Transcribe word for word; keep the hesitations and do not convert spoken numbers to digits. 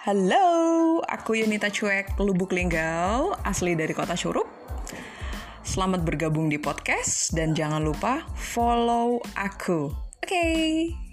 Halo, aku Yunita Cuek Lubuk Linggau, asli dari kota Curup. Selamat bergabung di podcast dan jangan lupa follow aku. Oke. Okay.